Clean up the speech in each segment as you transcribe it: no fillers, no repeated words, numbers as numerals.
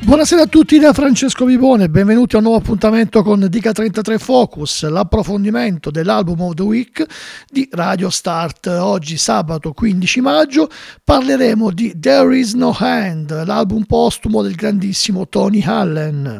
Buonasera a tutti da Francesco Vivone, benvenuti a un nuovo appuntamento con Dica 33 Focus, l'approfondimento dell'album of the week di Radio Start. Oggi sabato 15 maggio parleremo di There Is No Hand, l'album postumo del grandissimo Tony Allen.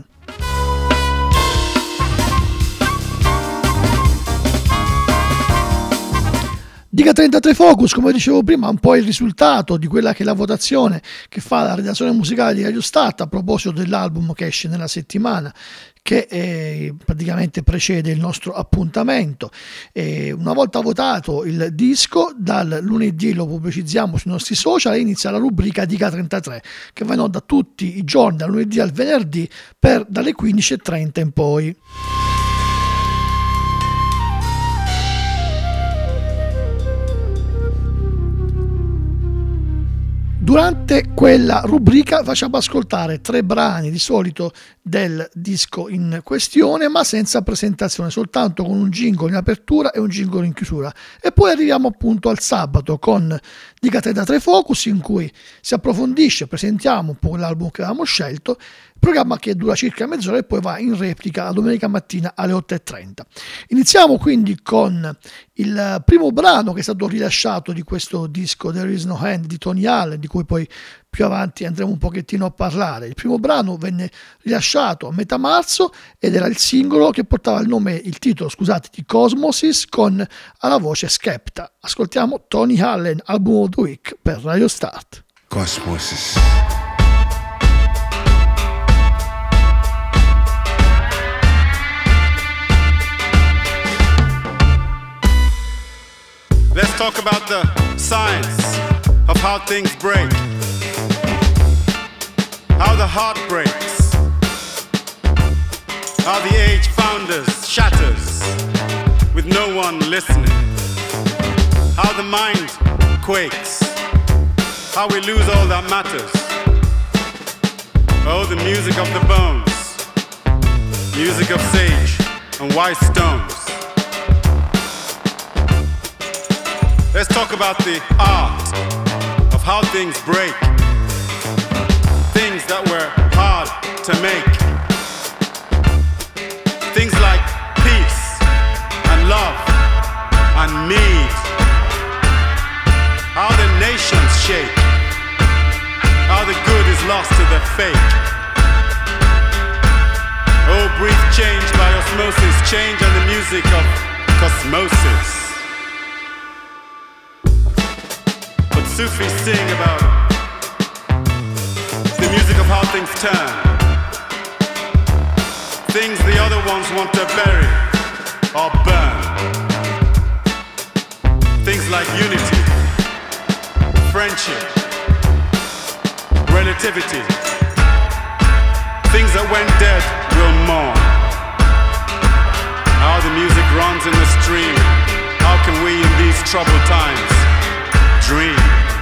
Dica 33 Focus, come dicevo prima, è un po' il risultato di quella che è la votazione che fa la redazione musicale di Radio Start a proposito dell'album che esce nella settimana che praticamente precede il nostro appuntamento. Una volta votato il disco, dal lunedì lo pubblicizziamo sui nostri social e inizia la rubrica Dica 33 che va in onda tutti i giorni, dal lunedì al venerdì, dalle 15:30 in poi. Durante quella rubrica facciamo ascoltare 3 brani di solito del disco in questione, ma senza presentazione, soltanto con un jingle in apertura e un jingle in chiusura. E poi arriviamo appunto al sabato con Dica 33 Focus, in cui si approfondisce, presentiamo un po' l'album che avevamo scelto, programma che dura circa mezz'ora e poi va in replica la domenica mattina alle 8:30. Iniziamo quindi con il primo brano che è stato rilasciato di questo disco There Is No Hand di Tony Allen, di cui poi più avanti andremo un pochettino a parlare. Il primo brano venne rilasciato a metà marzo ed era il singolo che portava il titolo di Cosmosis, con alla voce Skepta. Ascoltiamo Tony Allen, album of the week per Radio Start. Cosmosis. Let's talk about the science of how things break, how the heart breaks, how the age founders shatters with no one listening, how the mind quakes, how we lose all that matters. Oh, the music of the bones, music of sage and white stones. Let's talk about the art of how things break, things that were hard to make, things like peace and love and need, how the nations shake, how the good is lost to the fake. Oh, breathe change by osmosis, change and the music of cosmosis. Sufis sing about the music of how things turn, things the other ones want to bury or burn, things like unity, friendship, relativity, things that went dead will mourn. How the music runs in the stream, how can we in these troubled times dream?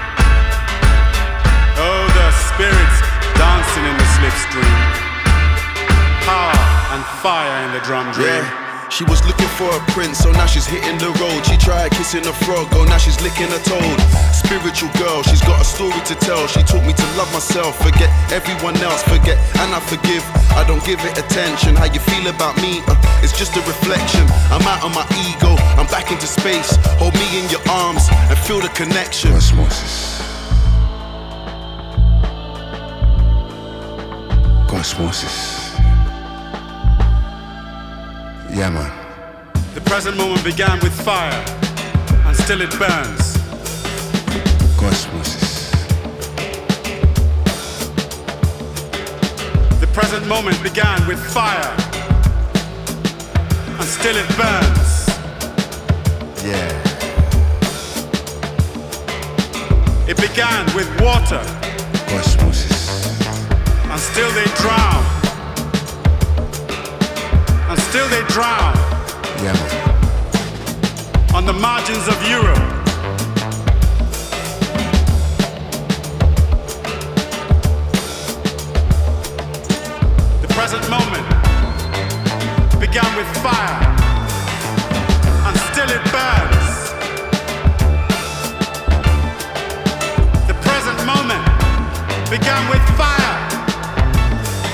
Oh, the spirits dancing in the slipstream, power and fire in the drum dream. Yeah, she was looking for a prince, so now she's hitting the road. She tried kissing a frog, oh now she's licking a toad. Spiritual girl, she's got a story to tell. She taught me to love myself, forget everyone else, forget and I forgive. I don't give it attention. How you feel about me, it's just a reflection. I'm out of my ego, I'm back into space. Hold me in your arms and feel the connection. Osmosis. Osmosis. Yeah, man. The present moment began with fire, and still it burns. Osmosis. The present moment began with fire, and still it burns. Yeah. It began with water, Osmosis. and still they drown, and still they drown. Yeah, man. On the margins of Europe. The present moment began with fire, and still it burns. The present moment began with fire,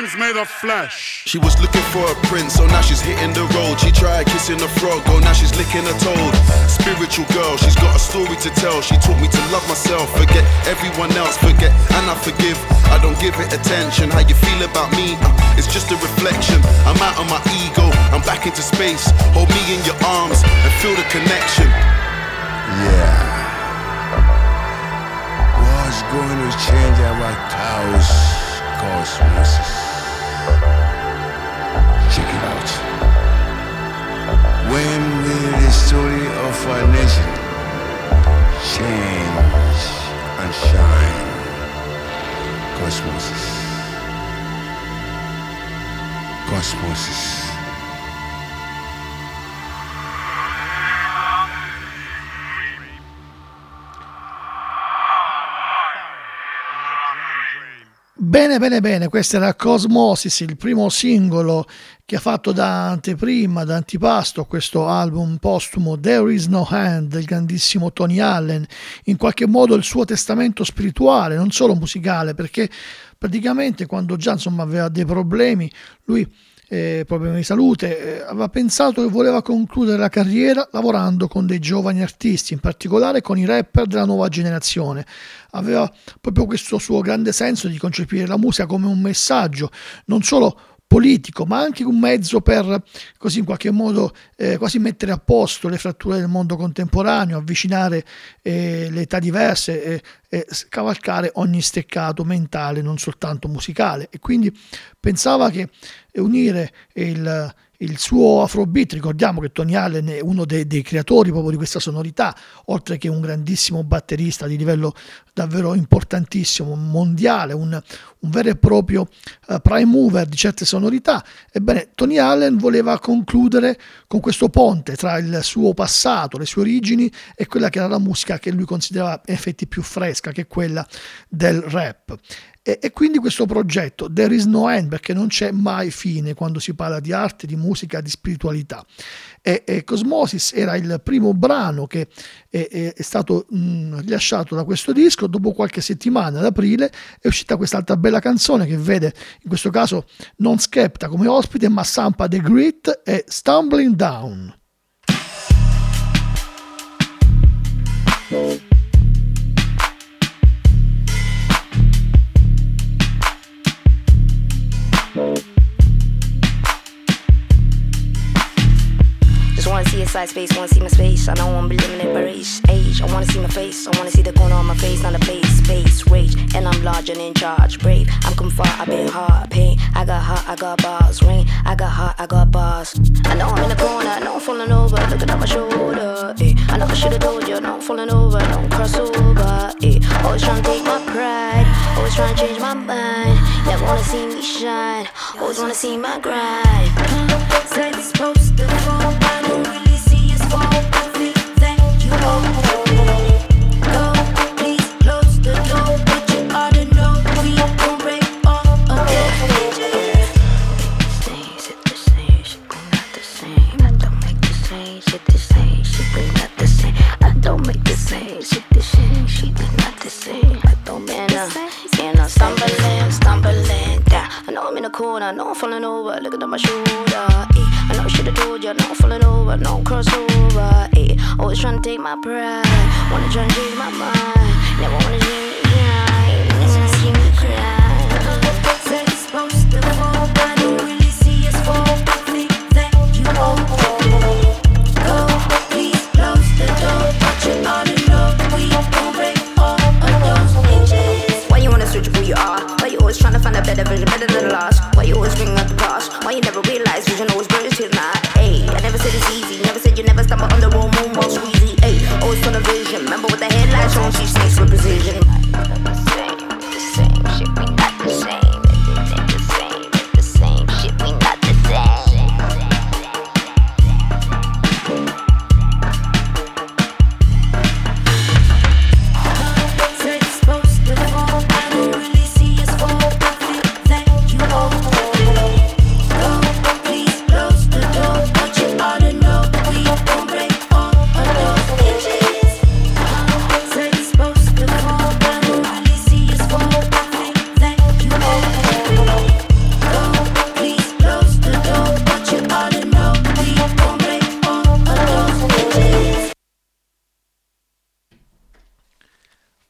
hands made of flesh. She was looking for a prince, so now she's hitting the road. She tried kissing a frog, oh now she's licking a toad. Spiritual girl, she's got a story to tell. She taught me to love myself, forget everyone else, forget and I forgive. I don't give it attention. How you feel about me? It's just a reflection. I'm out of my ego, I'm back into space. Hold me in your arms and feel the connection. Yeah. What's going to change our chaos cosmos? Check it out. When will the story of our nation change and shine? Cosmosis. Cosmosis. Bene, bene, bene, questo era Cosmosis, il primo singolo che ha fatto da anteprima, da antipasto a questo album postumo There Is No Hand del grandissimo Tony Allen, in qualche modo il suo testamento spirituale, non solo musicale, perché praticamente quando già insomma aveva dei problemi, lui problemi di salute, aveva pensato che voleva concludere la carriera lavorando con dei giovani artisti, in particolare con i rapper della nuova generazione. Aveva proprio questo suo grande senso di concepire la musica come un messaggio, non solo politico, ma anche un mezzo per così in qualche modo quasi mettere a posto le fratture del mondo contemporaneo, avvicinare le età diverse e scavalcare ogni steccato mentale, non soltanto musicale. E quindi pensava che unire il suo Afrobeat, ricordiamo che Tony Allen è uno dei creatori proprio di questa sonorità, oltre che un grandissimo batterista di livello davvero importantissimo, mondiale, un vero e proprio prime mover di certe sonorità. Ebbene, Tony Allen voleva concludere con questo ponte tra il suo passato, le sue origini e quella che era la musica che lui considerava in effetti più fresca, che è quella del rap. E quindi questo progetto, There Is No End, perché non c'è mai fine quando si parla di arte, di musica, di spiritualità. E Cosmosis era il primo brano che è stato rilasciato da questo disco. Dopo qualche settimana, ad aprile, è uscita quest'altra bella canzone che vede in questo caso non Skepta come ospite, ma Sampa The Great e Stumbling Down. Just wanna see a side space, wanna see my space. I don't wanna be limited by race, age. I wanna see my face, I wanna see the corner on my face, not a place, space, rage. And I'm large and in charge, brave. I'm come far, I've been hard, pain. I got hot, I got bars, rain. I got hot, I got bars. I know I'm in the corner, I know I'm falling over, looking at my shoulder. I know I should've told you, I know I'm falling over, don't cross over. Always trying to take my pride, always trying to change my mind. Never wanna see me shine, always wanna see my grind. Say it's supposed to fall, I don't really see us fall. I feel that you go, please close the door, but you ought to know we gon' break all of it. Shit the same, shit not the same. I don't make the same, shit the same, shit not the same. I don't make the same, shit the same, shit not the same. I don't man stumbling down. I know I'm in the corner, I know I'm falling over, looking at my shoulder. I know I should've told you, I know I'm falling over, no crossover. Always trying to take my pride, wanna try and change my mind. Never wanna see me cry, never wanna see me cry. Said it's supposed to fall, I don't really see us fall. I think that you go, please close the door, but you ought to know we gon' break all of those hinges. Why you wanna switch who you are? Why you always trying to find a better version, better than the last? Why you always bring up the past? Why you never realize vision always brings till now? Ayy, I never said it's easy, never said you never stumble on the wrong moon while squeezy. Ayy, always full of vision. Remember with the headlights on, she snakes with precision. The same shit, we not the same. The same shit, we not the same. Said it's supposed to fall, I don't really see us fall. I feel that you go, please.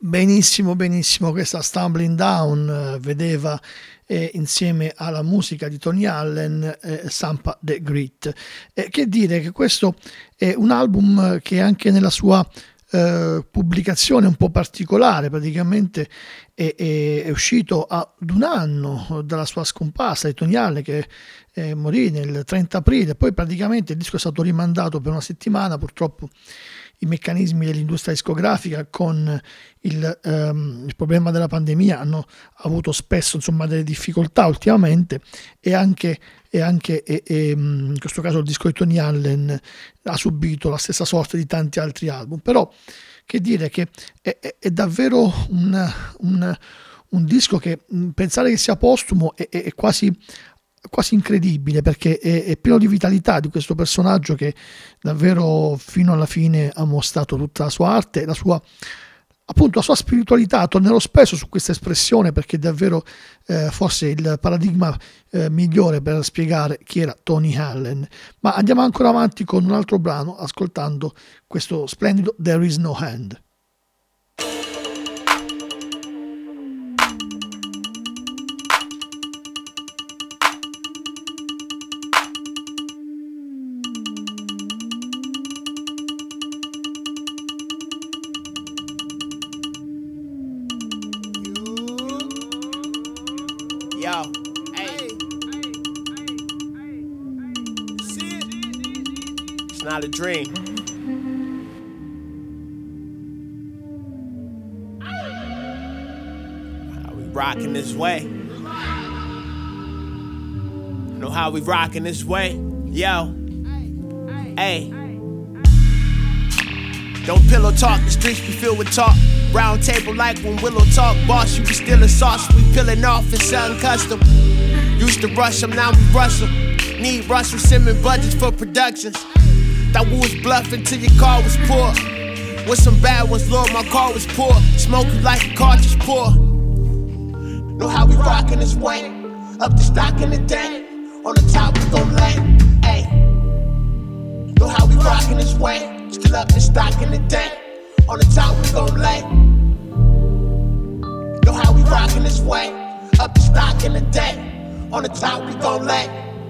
Benissimo, questa Stumbling Down vedeva insieme alla musica di Tony Allen Sampa the Great. Che dire che questo è un album che anche nella sua pubblicazione un po' particolare, praticamente è uscito ad un anno dalla sua scomparsa di Tony Allen, che morì nel 30 aprile, poi praticamente il disco è stato rimandato per una settimana. Purtroppo i meccanismi dell'industria discografica con il problema della pandemia hanno avuto spesso delle difficoltà ultimamente, e anche in questo caso il disco di Tony Allen ha subito la stessa sorte di tanti altri album. Però che dire che è davvero un disco che pensare che sia postumo è quasi incredibile, perché è pieno di vitalità di questo personaggio che davvero fino alla fine ha mostrato tutta la sua arte, la sua spiritualità. Tornerò spesso su questa espressione perché è davvero forse il paradigma migliore per spiegare chi era Tony Allen. Ma andiamo ancora avanti con un altro brano, ascoltando questo splendido There Is No Hand. Yo, hey. See it? It's not a dream. How we rockin' this way? Know how we rockin' this way? Yo, hey. Don't pillow talk, the streets be filled with talk. Round table like when Willow talk. Boss, you be stealing sauce, we peeling off and selling custom. Used to rush them, now we rush them. Need Russell Simmons budgets for productions. Thought we was bluffing till your car was poor. With some bad ones, Lord, my car was poor. Smoke you like a cartridge pour. Know how we rockin' this way. Up the stock in the day. On the top we gon' lay. Ayy. Know how we rockin' this way. Still up the stock in the day. On the top we gon' lay. Know how we rockin' this way. Up the stock in the day. On the top we gon' lay.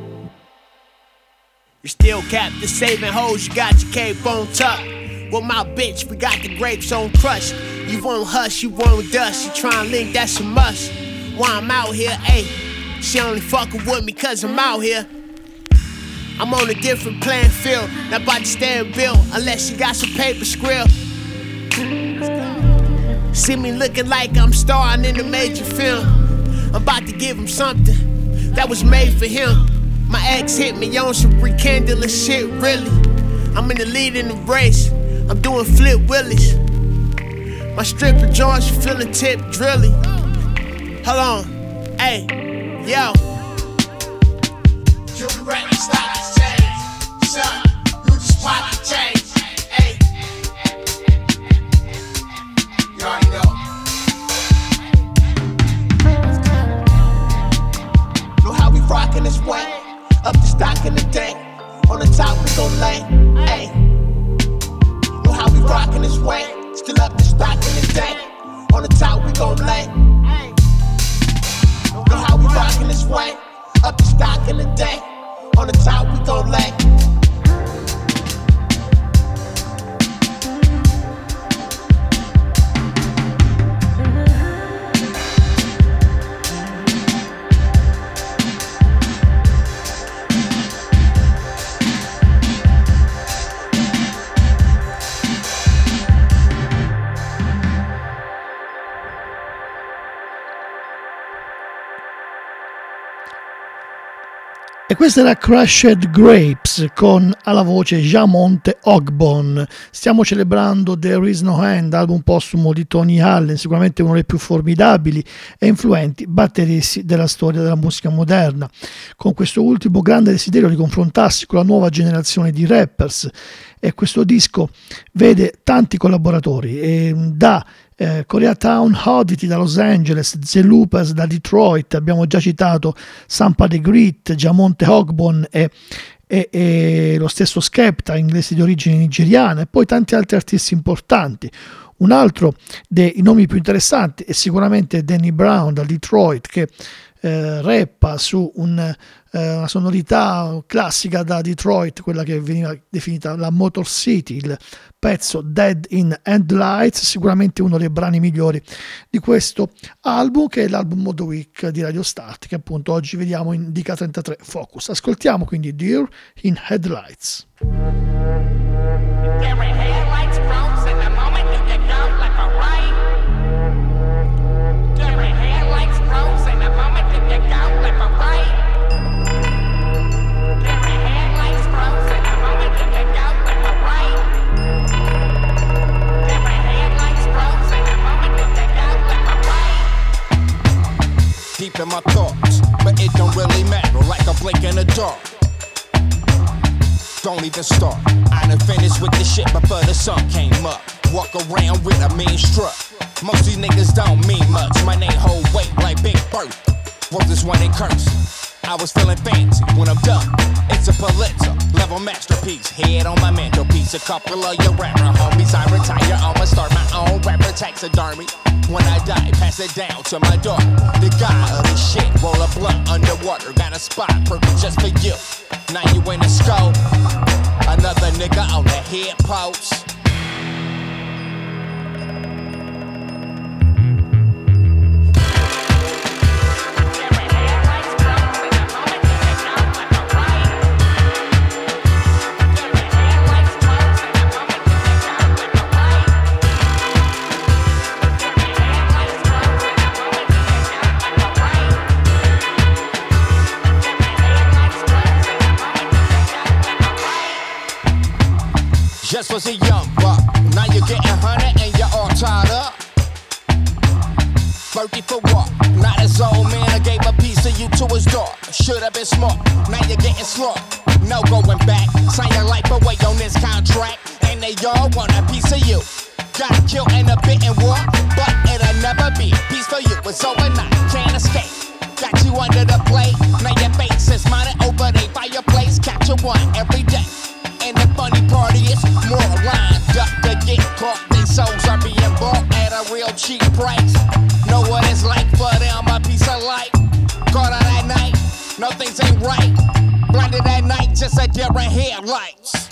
You still capped the saving hoes, you got your cape on tuck. With my bitch, we got the grapes on crush. You won't hush, you won't dust. You tryna link, that's a must. While I'm out here, ayy. She only fucking with me cause I'm out here. I'm on a different playing field. Not about to stand bill unless you got some paper script. See me looking like I'm starring in a major film. I'm about to give him something that was made for him. My ex hit me on some rekindling shit, really. I'm in the lead in the race. I'm doing flip willies. My stripper joints feeling tip drilly. Hold on, hey, yo. You be ready to stop this change, son. You just pop the change, hey. You already know. Know how we rockin' this way. Up the stock in the day. On the top we gon' lay, hey. Know how we rockin' this way. Still up the stock in the day. On the top we gon' lay. Know how we rockin' this way. Up the stock in the day. On the top we gon' lay. E questa era Crushed Grapes con alla voce Jamonte Ogbon. Stiamo celebrando There Is No Hand, album postumo di Tony Allen, sicuramente uno dei più formidabili e influenti batteristi della storia della musica moderna, con questo ultimo grande desiderio di confrontarsi con la nuova generazione di rappers. E questo disco vede tanti collaboratori, da Koreatown Oddity da Los Angeles, The Loopers da Detroit, abbiamo già citato Sampa the Great, Jamonte Ogbon e lo stesso Skepta, inglese di origine nigeriana, e poi tanti altri artisti importanti. Un altro dei nomi più interessanti è sicuramente Danny Brown da Detroit, che rappa su una sonorità classica da Detroit, quella che veniva definita la Motor City. Il pezzo Dead in Headlights, sicuramente uno dei brani migliori di questo album, che è l'album Modo Week di Radio Start, che appunto oggi vediamo in DK33 Focus. Ascoltiamo quindi Deer in Headlights. Deep in my thoughts, but it don't really matter, like a blink in the dark. Don't even start. I done finished with this shit before the sun came up. Walk around with a mean strut. Most these niggas don't mean much. My name hold weight like Big Bird. Wrote this one in curse. I was feeling fancy when I'm done. It's a Pulitzer level masterpiece. Head on my mantelpiece. A couple of your rapper homies. I retire. I'ma start my own rapper taxidermy. When I die, pass it down to my daughter. The guy of this shit, roll a blunt underwater. Got a spot perfect just for you. Now you in the scope. Another nigga on the head post. Just was a young buck, now you're getting 100 and you're all tied up. 30 for what? Not as old man, I gave a piece of you to his daughter. Should've been smart, now you're getting slaughtered. No going back, sign your life away on this contract. And they all want a piece of you. Got killed in a bit and war, but it'll never be. Peace for you, it's overnight, can't escape. Got you under the plate, now your face is mounted over the fireplace. Capture one every day. And the funny part is, more lined up to get caught. These souls are being bought at a real cheap price. Know what it's like for them, a piece of life. Caught out at night, no things ain't right. Blinded at night, just a different headlights.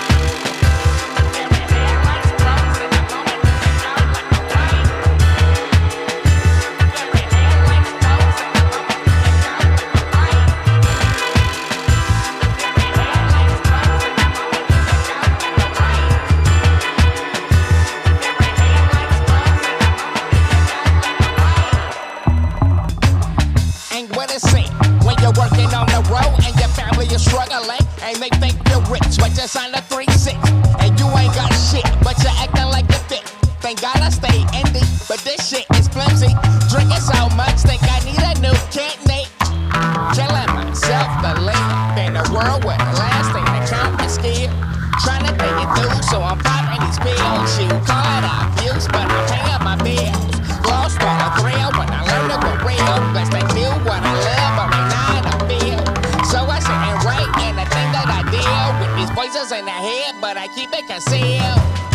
Working on the road and your family is struggling and they think you're rich, but just on the 3-6 and you ain't got shit, but you're acting like you fit. Thank God I stay indie, but this shit is flimsy. Drinking so much, think I need a new kidney. Killing myself, believe in a world where the last thing that count is skill. Trying to think it through, so I'm popping these pills. You call it abuse, but I'm paying my bills. Lost on a thrill when I learned to go real. Blessed to do what I love, but right now so I sit and write, and the thing that I deal with these voices in the head, but I keep it concealed.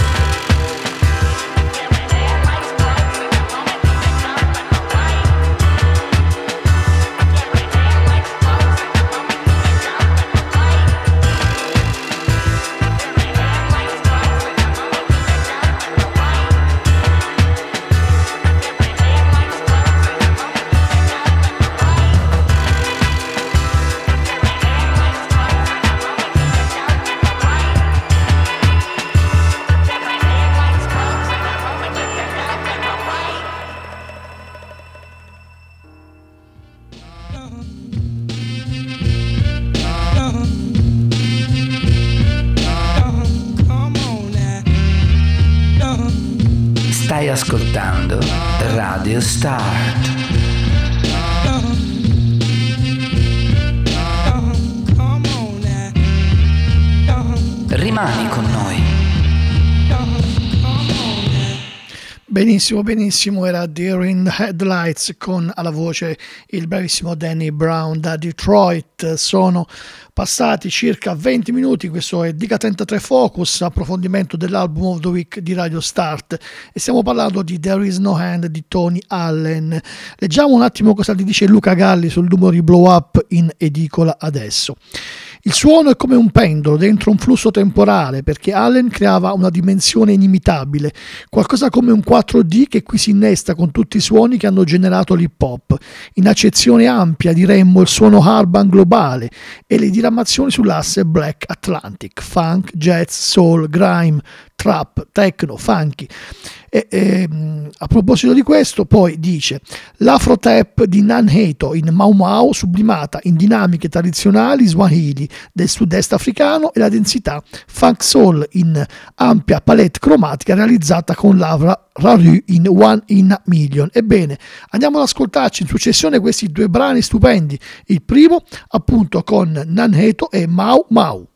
Stai ascoltando Radio Start. Rimani con noi. Benissimo, benissimo, era Deer in Headlights con alla voce il bravissimo Danny Brown da Detroit. Sono passati circa 20 minuti, questo è Diga 33 Focus, approfondimento dell'album of the week di Radio Start e stiamo parlando di There Is No Hand di Tony Allen. Leggiamo un attimo cosa ti dice Luca Galli sul numero di Blow Up in edicola adesso. Il suono è come un pendolo dentro un flusso temporale perché Allen creava una dimensione inimitabile, qualcosa come un 4D che qui si innesta con tutti i suoni che hanno generato l'hip hop. In accezione ampia diremmo il suono urban globale e le diramazioni sull'asse Black Atlantic, funk, jazz, soul, grime, trap, techno, funky. A proposito di questo poi dice l'afro tap di Nan Heto in Mau Mau sublimata in dinamiche tradizionali swahili del sud-est africano e la densità funk soul in ampia palette cromatica realizzata con l'Avra Raru in One in a Million. Ebbene, andiamo ad ascoltarci in successione questi due brani stupendi, il primo appunto con Nan Heto e Mau Mau.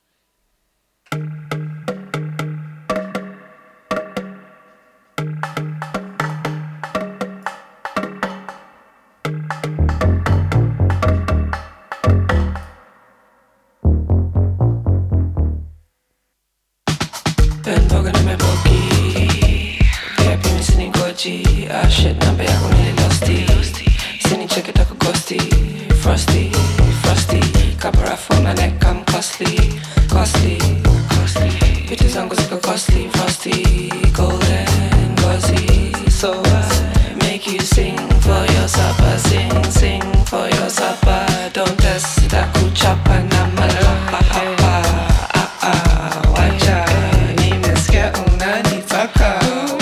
Ah shit, na be ako nili lusty. Sini check it ako ghosty. Frosty, frosty. Capra for my neck, I'm costly. Costly, costly. Bitches zangu ziko costly. Frosty, golden, gauzy. So I make you sing for your supper. Sing, sing for your supper. Don't test that kuchapa na malapa. Wacha, nimesikia unanitaka.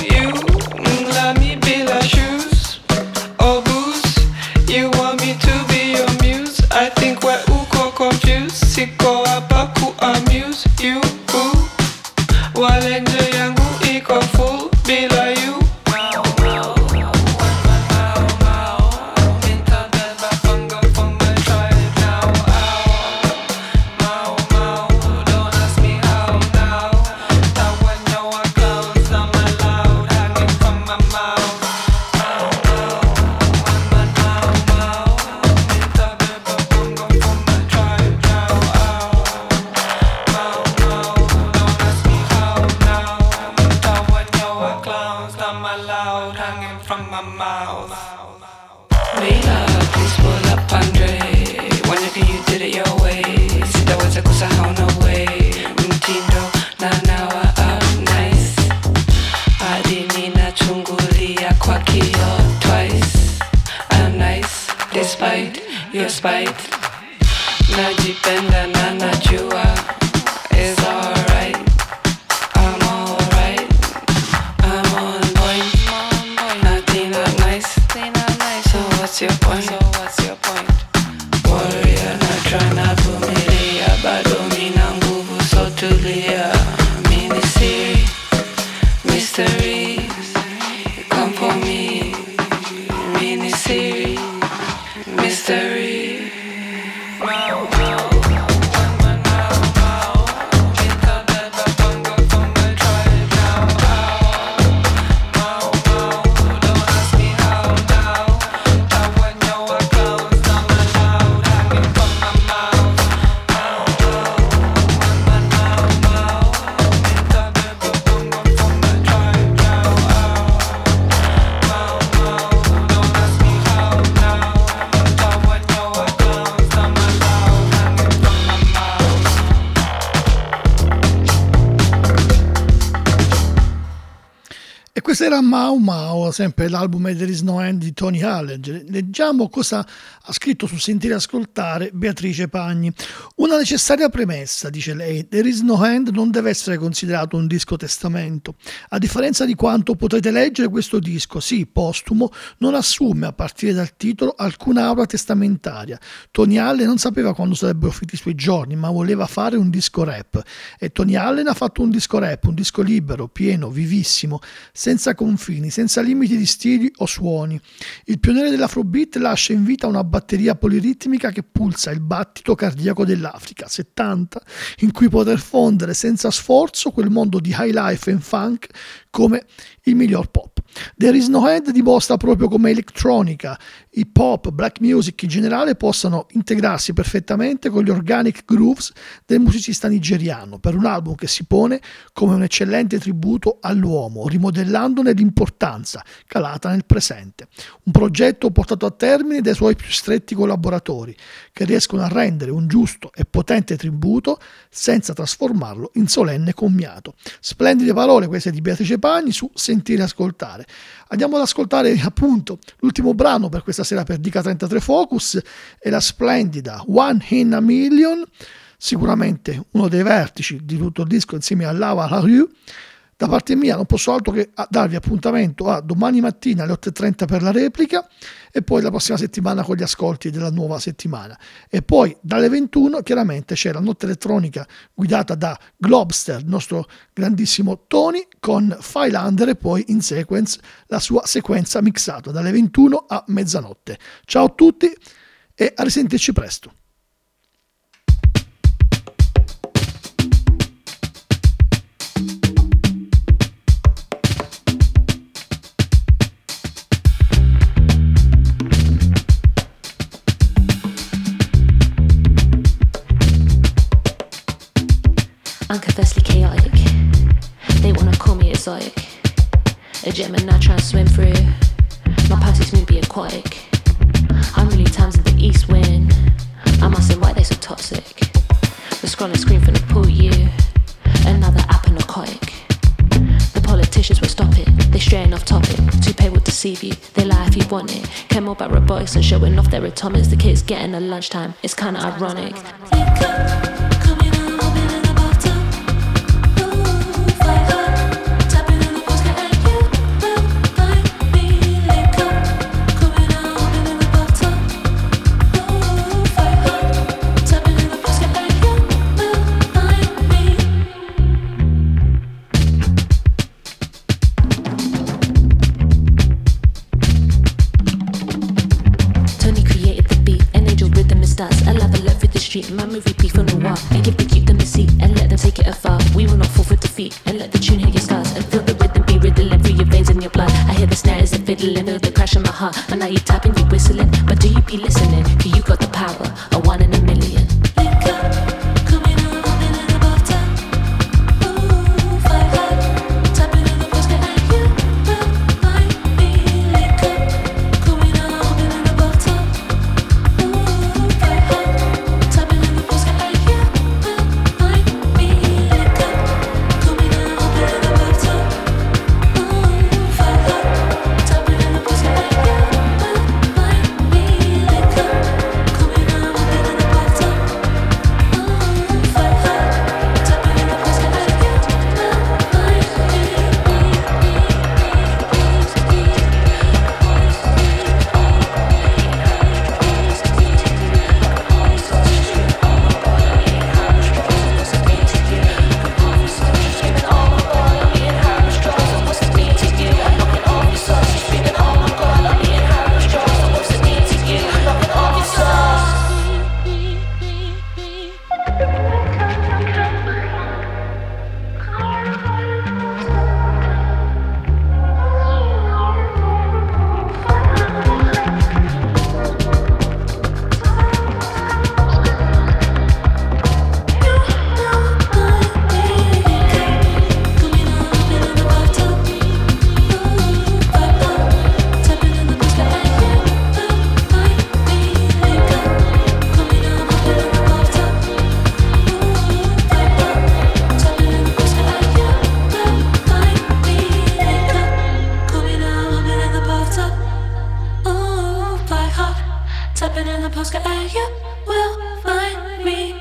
Siko hapa ku amuse you. Walenje yangu iko full bila you. Your spite, najipenda na najua is alright. I'm alright. I'm on point. Nothing not nice. So what's your point? Warrior na tryna vumilia, bado mina nguvu so tulia. Mini series, mystery, come for me. Mini series, mystery. Questo era Mau Mau, sempre l'album There Is No End di Tony Allen. Leggiamo cosa ha scritto su Sentire e Ascoltare Beatrice Pagni. Una necessaria premessa, dice lei, There Is No End non deve essere considerato un disco testamento. A differenza di quanto potrete leggere, questo disco, sì, postumo, non assume, a partire dal titolo, alcuna aura testamentaria. Tony Allen non sapeva quando sarebbero finiti i suoi giorni, ma voleva fare un disco rap. E Tony Allen ha fatto un disco rap, un disco libero, pieno, vivissimo, senza confini, senza limiti di stili o suoni. Il pioniere dell'Afrobeat lascia in vita una batteria poliritmica che pulsa il battito cardiaco dell'Africa 70, in cui poter fondere senza sforzo quel mondo di high life and funk come il miglior pop. There Is No End dimostra proprio come elettronica, hip hop, black music in generale possano integrarsi perfettamente con gli organic grooves del musicista nigeriano per un album che si pone come un eccellente tributo all'uomo, rimodellandone l'importanza calata nel presente. Un progetto portato a termine dai suoi più stretti collaboratori, che riescono a rendere un giusto e potente tributo senza trasformarlo in solenne commiato. Splendide parole queste di Beatrice Pagni su Sentire e Ascoltare. Andiamo ad ascoltare appunto l'ultimo brano per questa sera per Dica 33 Focus, è la splendida One in a Million, sicuramente uno dei vertici di tutto il disco insieme a Lava La Rue. Da parte mia non posso altro che darvi appuntamento a domani mattina alle 8:30 per la replica e poi la prossima settimana con gli ascolti della nuova settimana. E poi dalle 21 chiaramente c'è la notte elettronica guidata da Globster, il nostro grandissimo Tony, con Filander e poi in sequence la sua sequenza mixata dalle 21 a mezzanotte. Ciao a tutti e a risentirci presto. Unconfessedly chaotic. They wanna call me exotic. A Gemini trying to swim through. My party's smooth be aquatic. I'm really times in the east wind. I'm asking why they so toxic. The scrolling screen from the pool, you. Another app and narcotic. The politicians will stop it. They straying off topic. Toupee will deceive you. They lie if you want it. Care more about robotics and showing off their atomics. The kids getting a lunchtime. It's kinda ironic. My movie beef on the wall and give the youth them a seat and let them take it afar. We will not fall for defeat and let the tune hit your scars and feel the rhythm be riddling through your veins and your blood. I hear the snares and fiddling, feel the crash in my heart. And now you tapping, you whistling, but do you be listening? 'Cause you got the power, a 1 in a million. Tapping in the postcard, you will find me.